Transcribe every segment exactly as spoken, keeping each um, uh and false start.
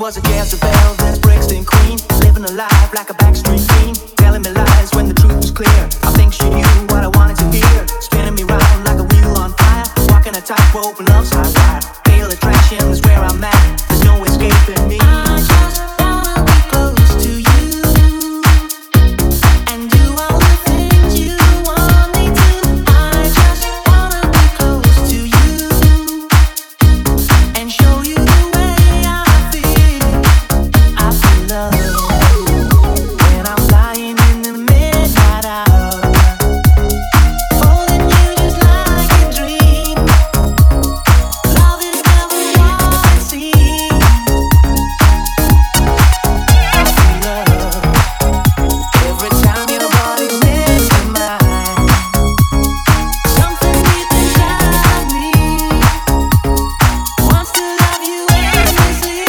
was a Jezebel, then a Brixton queen, living a life like a backstreet queen, telling me lies when the truth was clear. I think she knew what I wanted to hear, spinning me round like a wheel on fire, walking a tightrope and love's high wire. Fatal attraction is where I'm at, there's no escaping me. I just wanna be close to you and do all the things you want me to. I just wanna be close to you and show you the way I feel. I feel love when I'm lying in the midnight hour, holding you just like a dream. Love is never what it seems. I feel love every time your body's next to mine. Something deep inside of me wants to love you endlessly.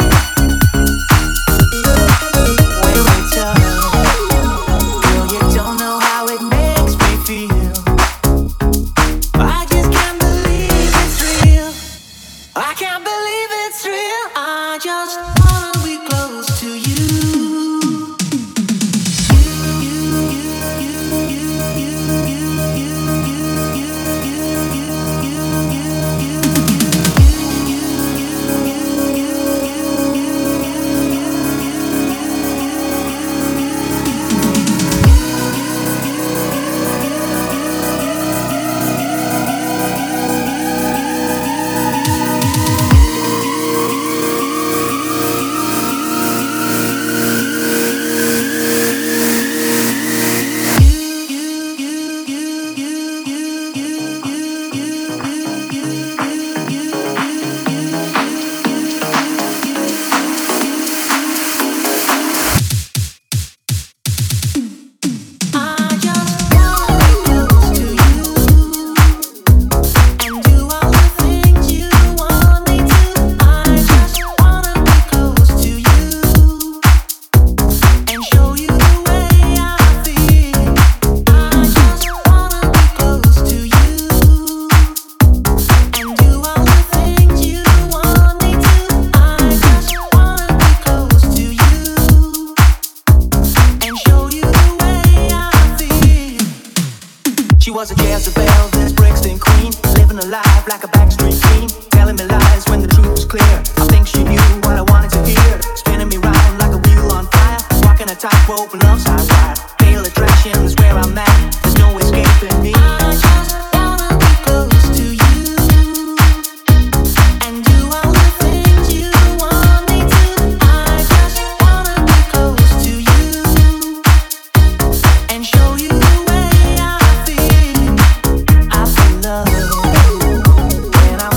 When we touch, girl, you don't know how it makes me feel. I just can't believe it's real. I can't believe it's real. I just wanna be close to you. I just wanna be close to you and do all the things you want me to. I just wanna be close to you and show you the way I feel. I just wanna be close to you and do all the things you want me to. I just wanna be close to you and show you the way I feel. She was a Jezebel, then a Brixton queen, living a life like a backstreet queen, telling me lies when the truth was clear. I think she knew what I wanted to hear, spinning me round like a wheel on fire, walking a tightrope and love's high wire. Fatal attraction is where I'm at, there's no escaping me. I just wanna be close to you and do all the things you want me to. I just wanna be close to you and show you the way I feel. I feel love when I'm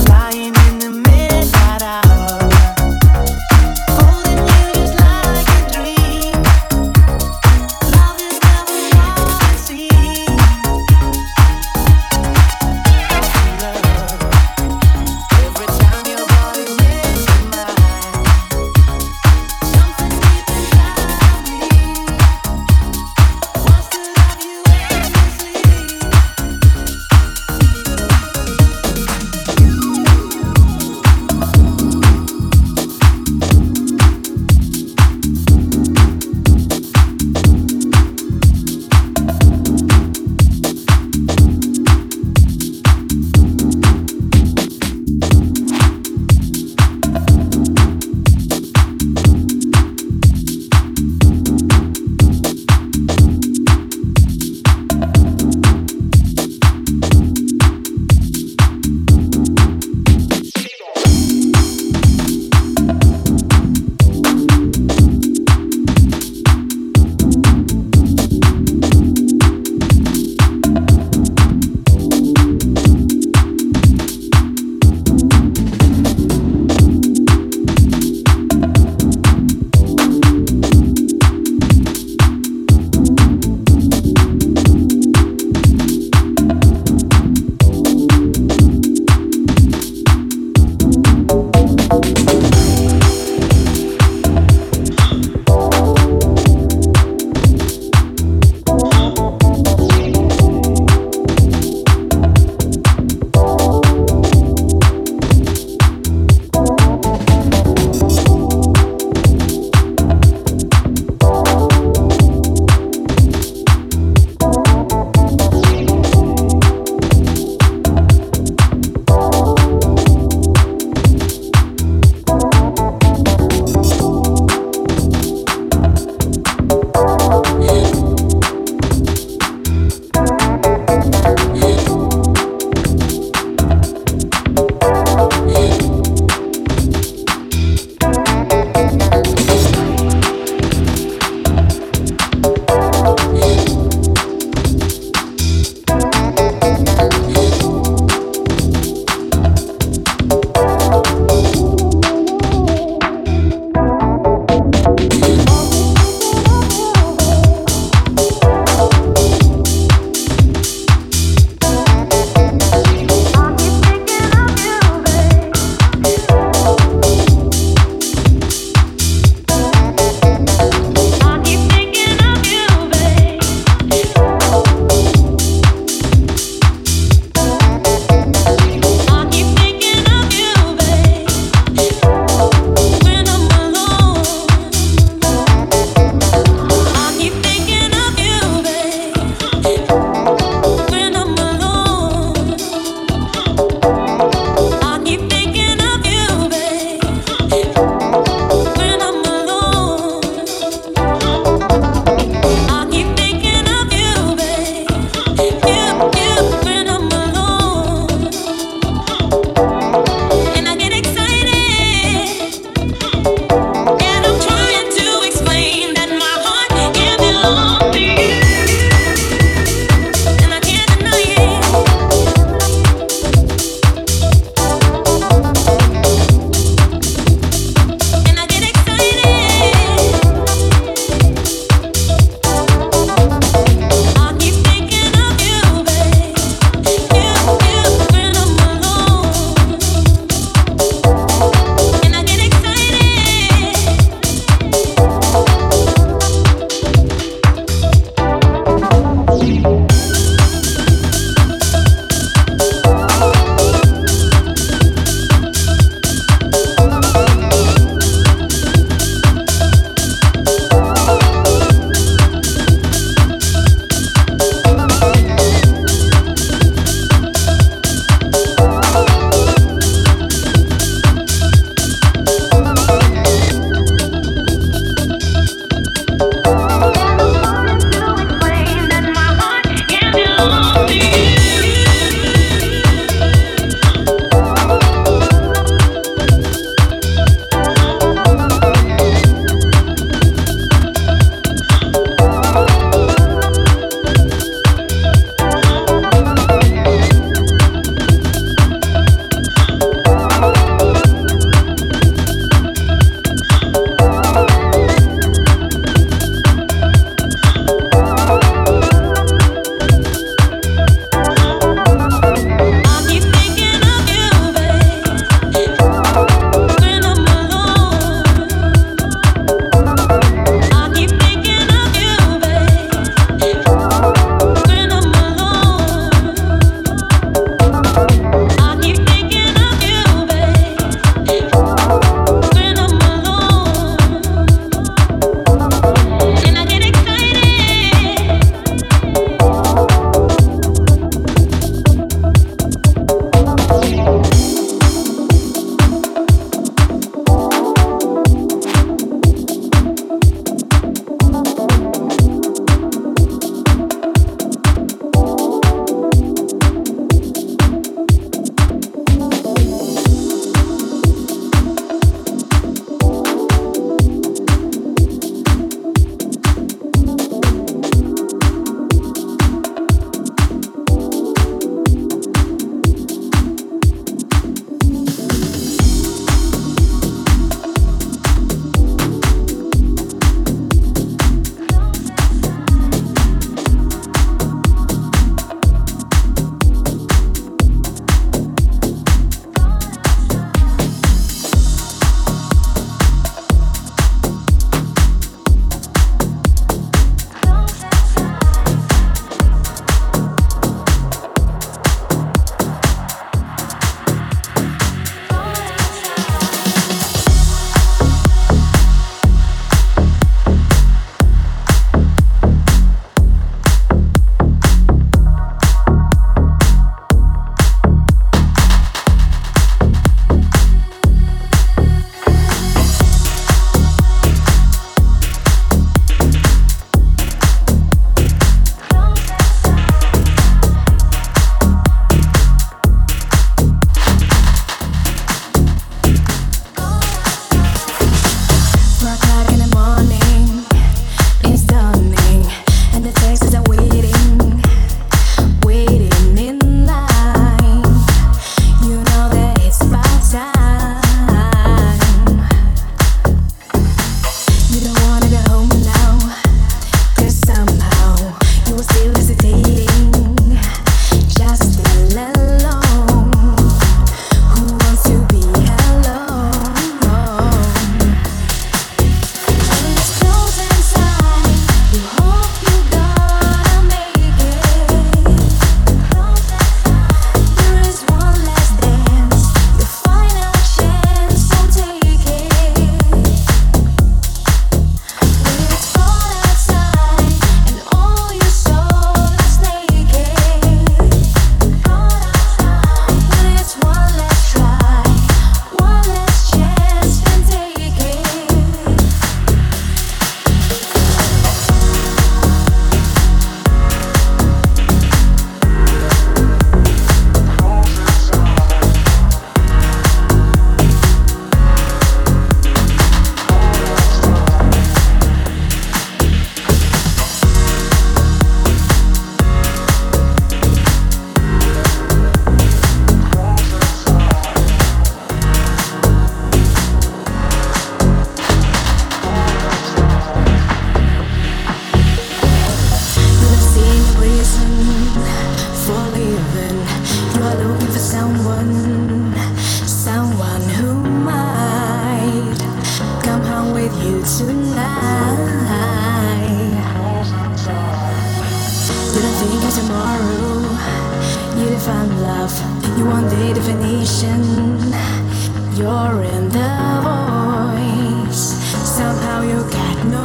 love. You want the definition. You're in the voice. Somehow you got no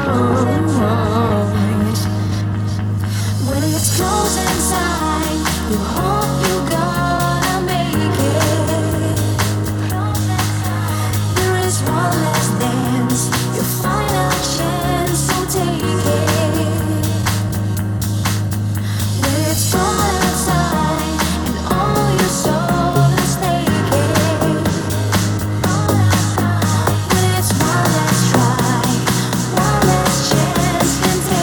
choice. When it's close inside, you hope you gonna make it. There is one last dance, your final chance, so take it. When it's cold outside and all your soul is naked. When it's one last try, one last chance, then take it.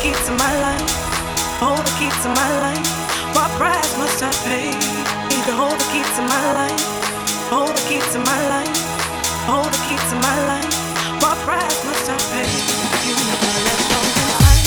key to my life. Hold the key to my life. What price must I pay? Need to hold the key to my life. Hold the key to my life. Hold the key to my life. What price must I pay? You never let go of life.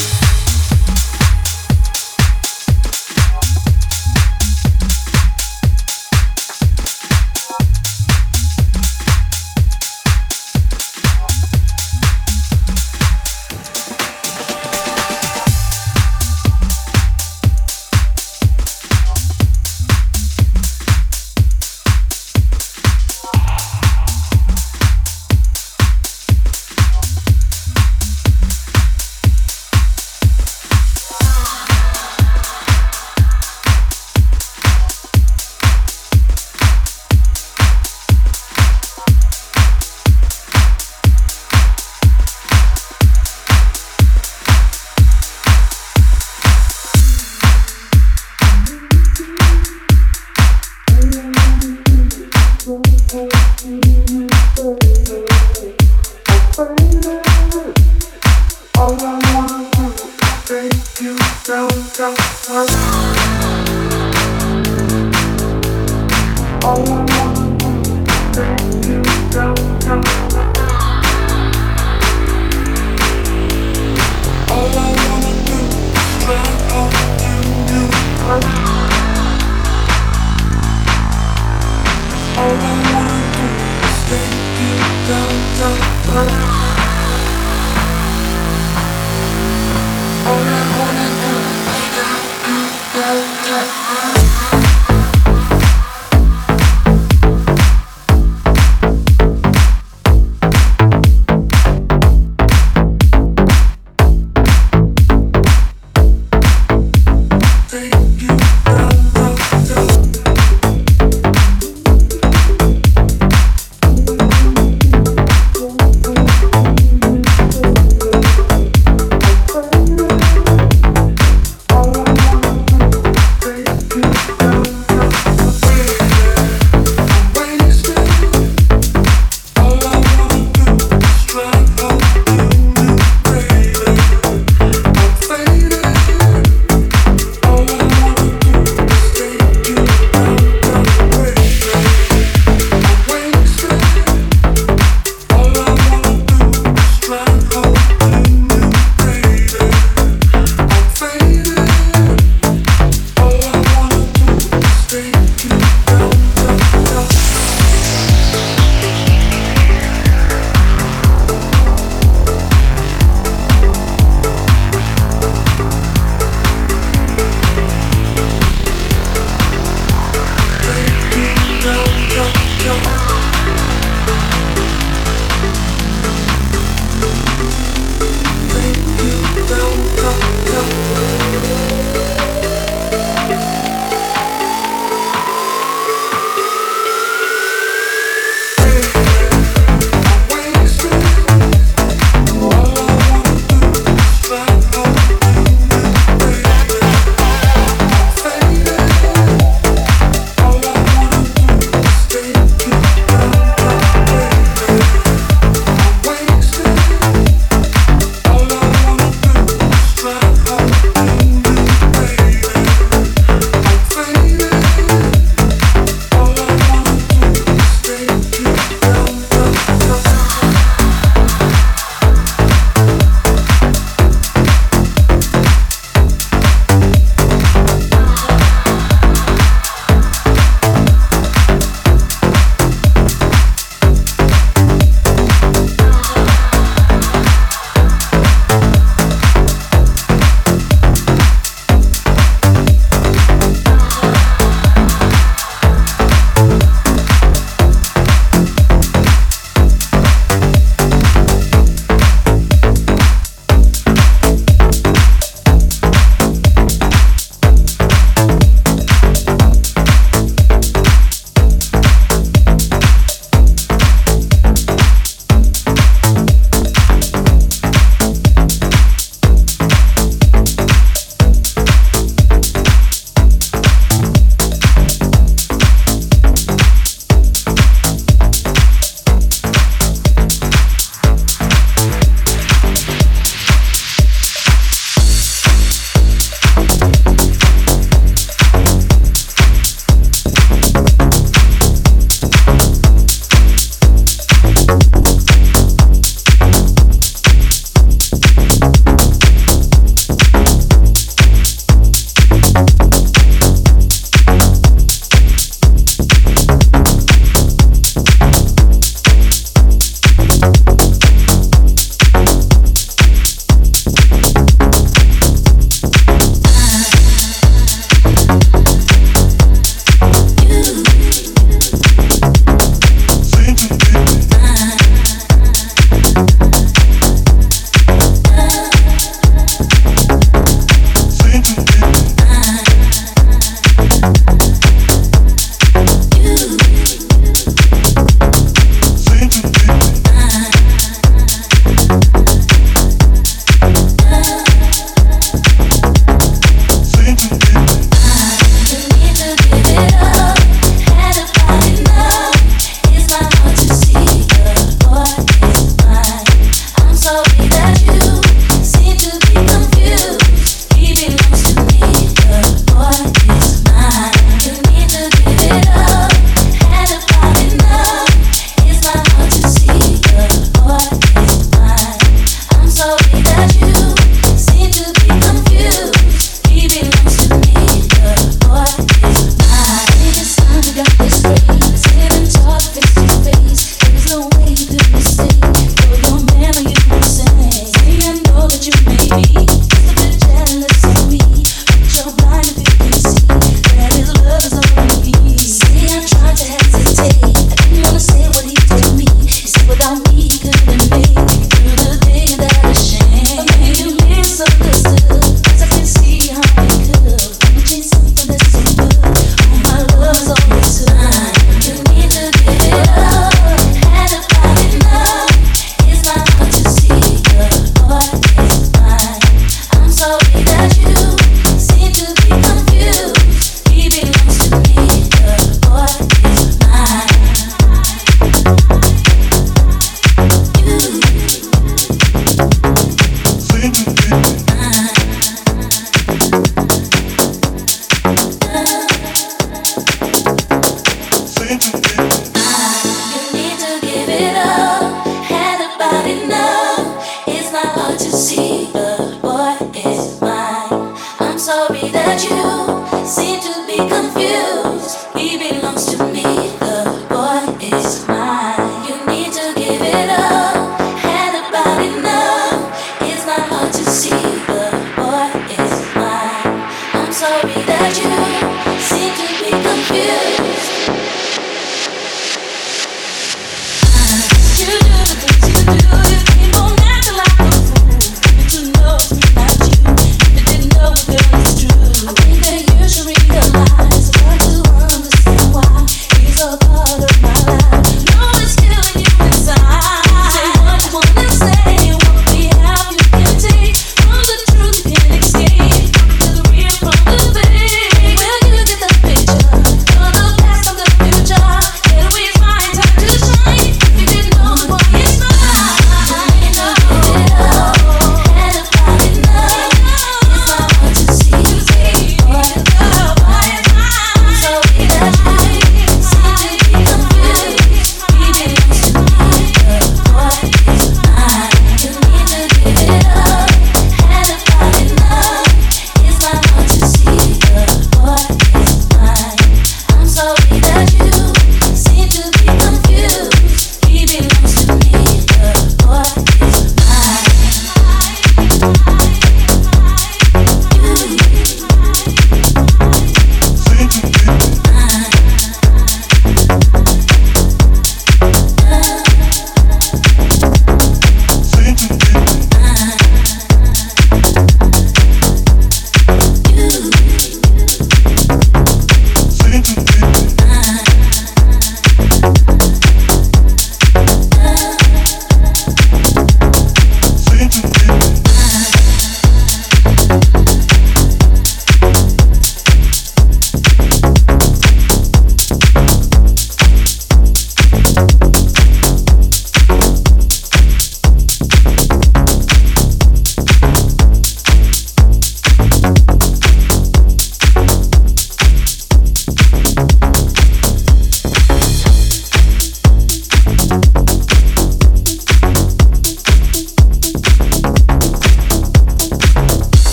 From the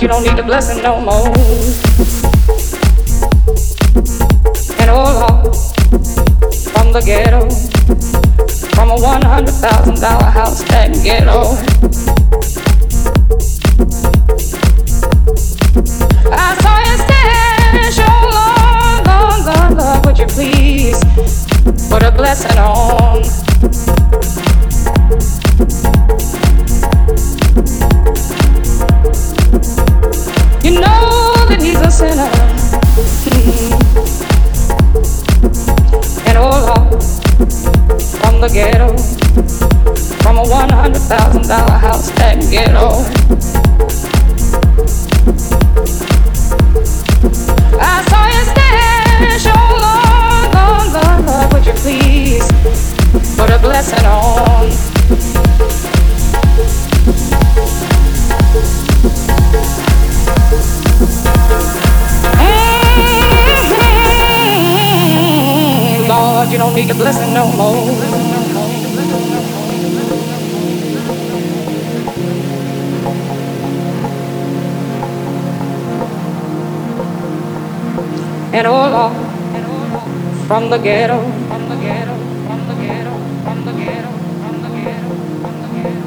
God, you don't need the blessing no more. And oh Lord, from the ghetto, from a one hundred thousand dollar house that ghetto, I saw you stand, show Lord, Lord, Lord, Lord, would you please put a blessing on? You know that he's a sinner. And oh Lord, from the ghetto, from a one hundred thousand dollar house that ghetto, I saw you stand, show Lord, Lord, Lord, Lord, would you please put a blessing on? Mm-hmm. Lord, you don't need a blessing no more. And oh Lord, from the ghetto, from the ghetto, from the ghetto, from the ghetto, from the ghetto, from the ghetto,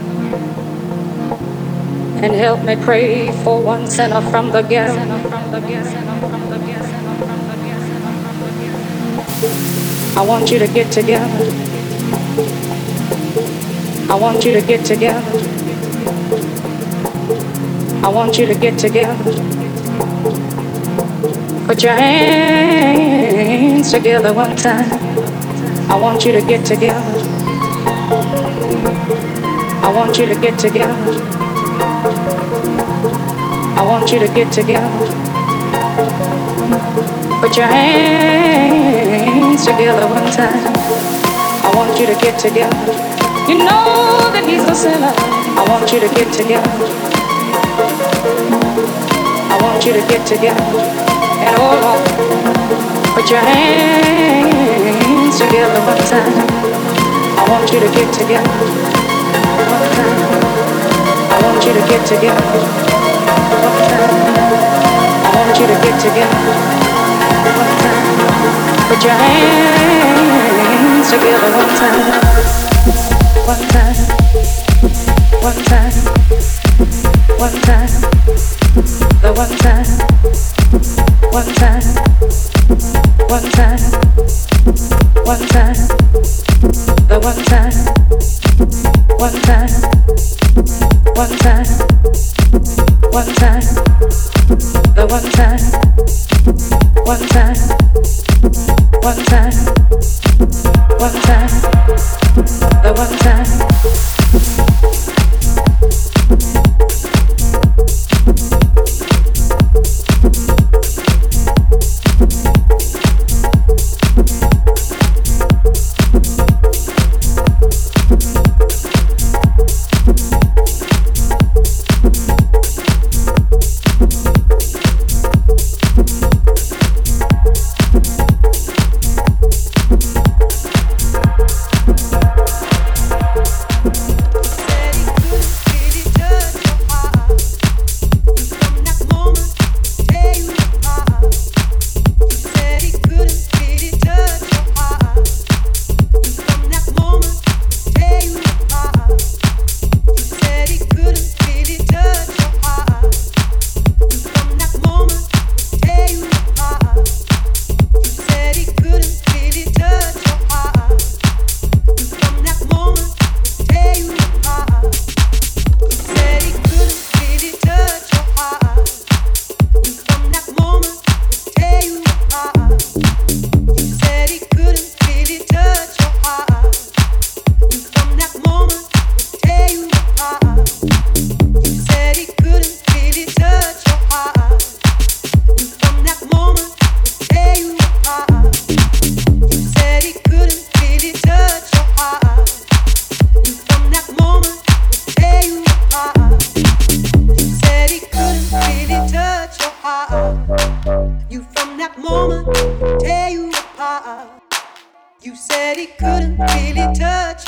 and help me pray for one sinner from the ghetto. I want you to get together. I want you to get together. I want you to get together. Put your hands together one time. I want you to get together. I want you to get together. I want you to get together. Put your hands together one time. I want you to get together. You know that he's a sinner. I want you to get together. I want you to get together. And oh Lord, put your hands together one time. I want you to get together one time. I want you to get together one time. I want you to get together one time. Put your hands together one time. One time. One time. One time. The one time. One time, one time, one time, the one time, one time, one time, one time, the one time, one time, one time, one time, the one time.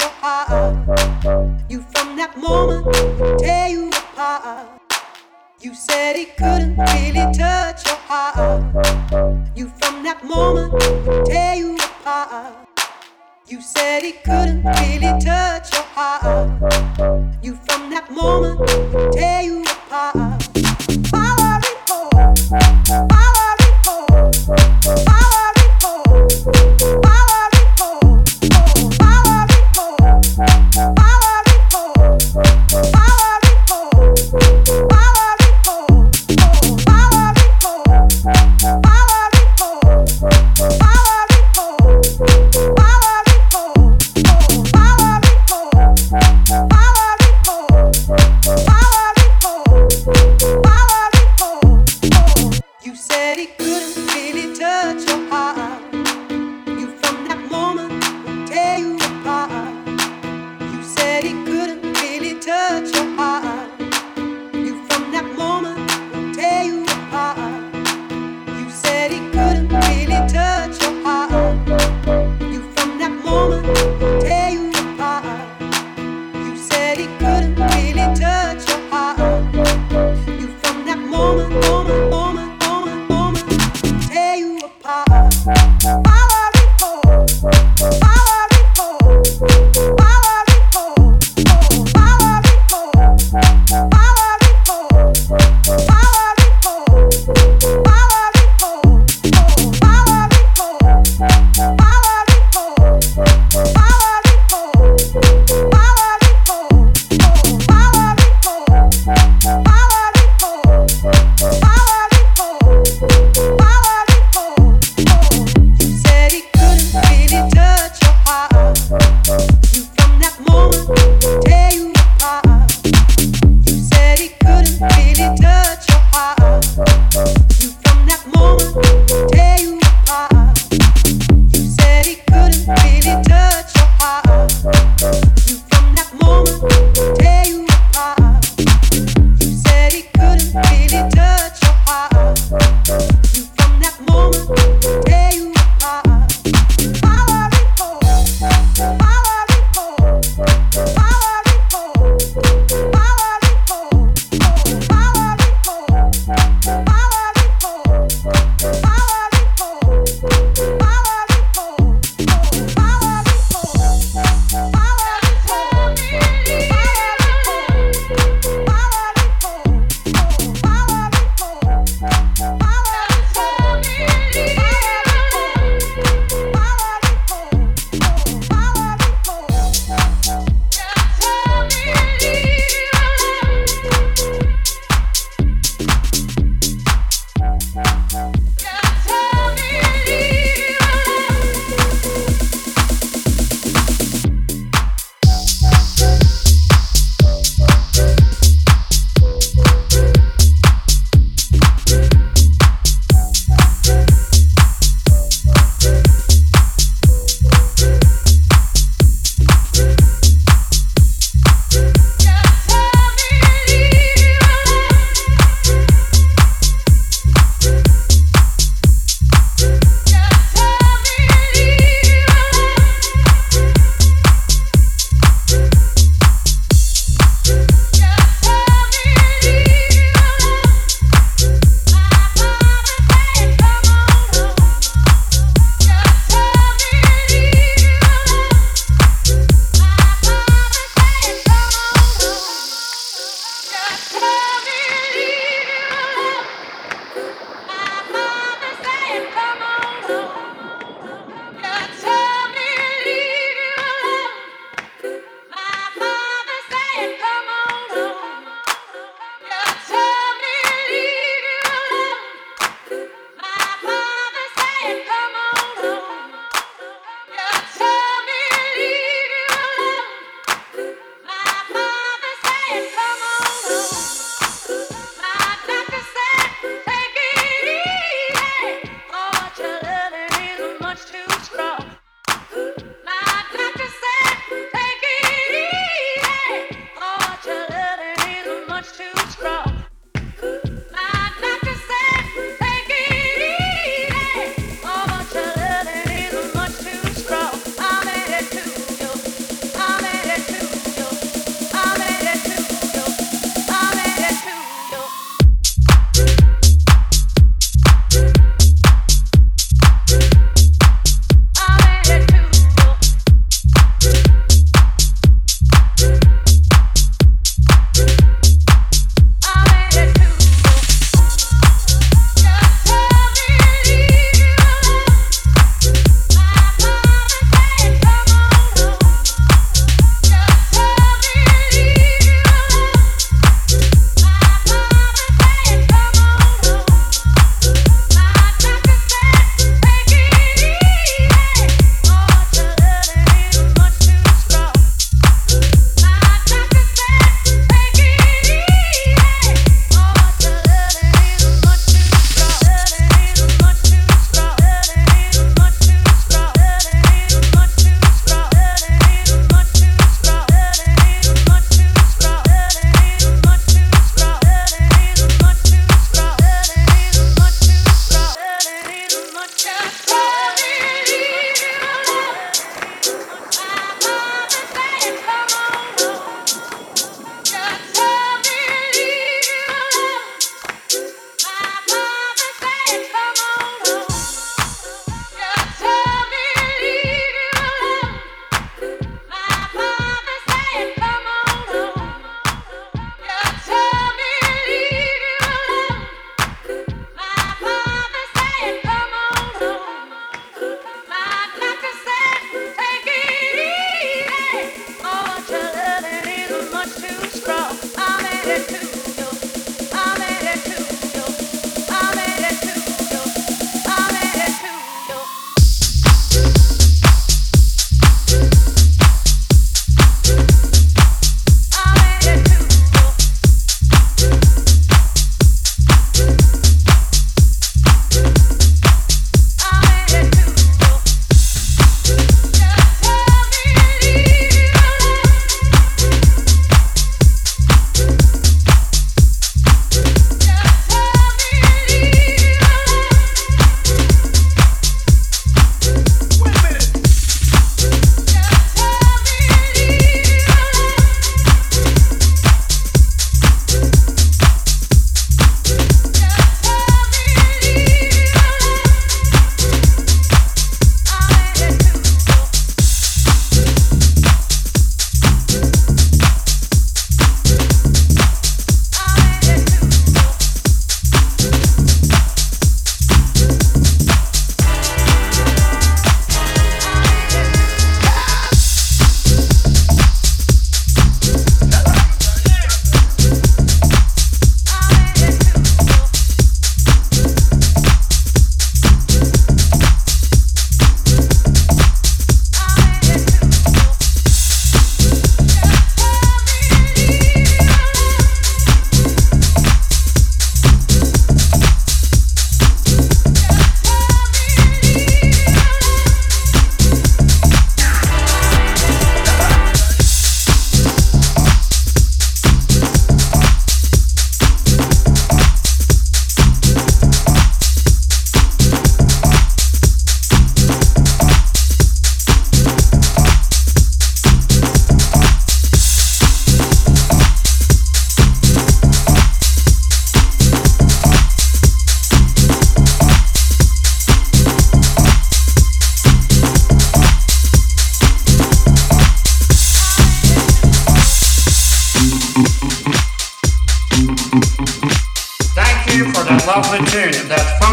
You from that moment tear you apart. You You said he couldn't really touch your heart. You from that moment would tear you apart. You said he couldn't really touch your heart. You from that moment would tear you apart. Power report, power report, power report, power report, power report, power report, power report, power report, power report, power report, power report, power report, power report, power report, power report, power report. You said he couldn't really touch your heart. You from that moment would tear you apart. You said he couldn't really touch your heart. You from that moment would tear you apart. You said he couldn't really touch your heart. You from that moment would tear you apart. You said he couldn't really touch your heart. You from that moment, moment, moment, moment, moment.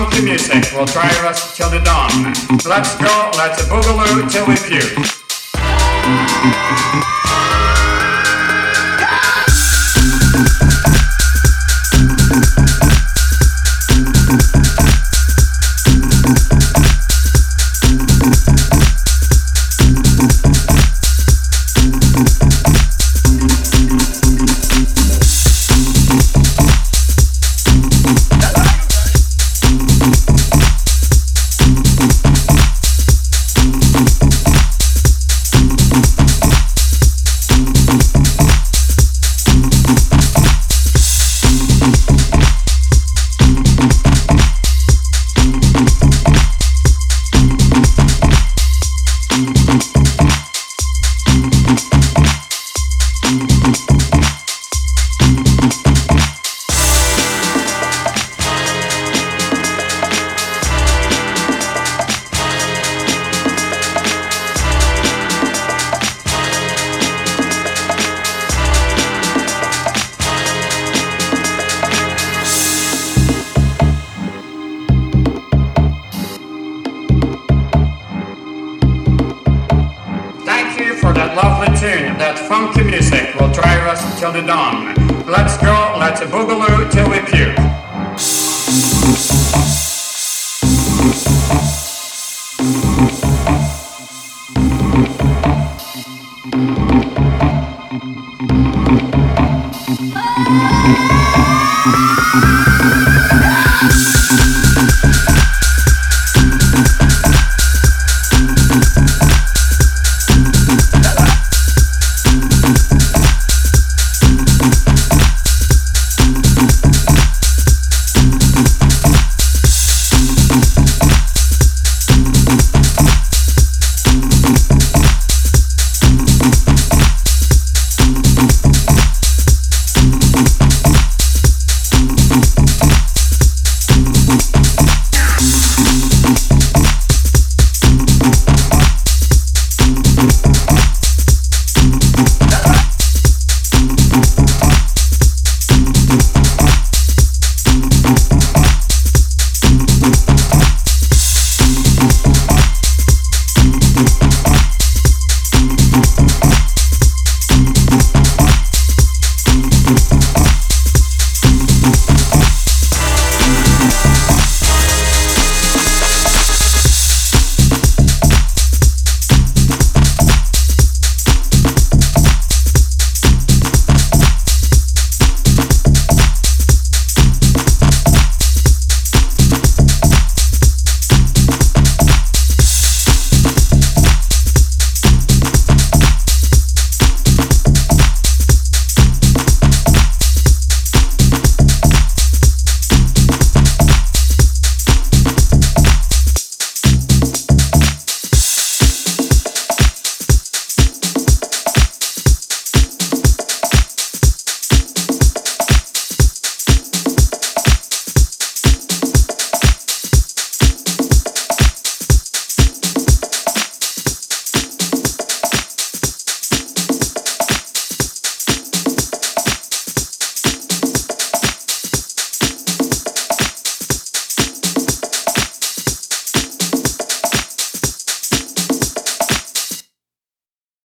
funky music will drive us till the dawn. Let's go, let's boogaloo till we puke. Funky music will drive us till the dawn. Let's go, let's boogaloo till we puke.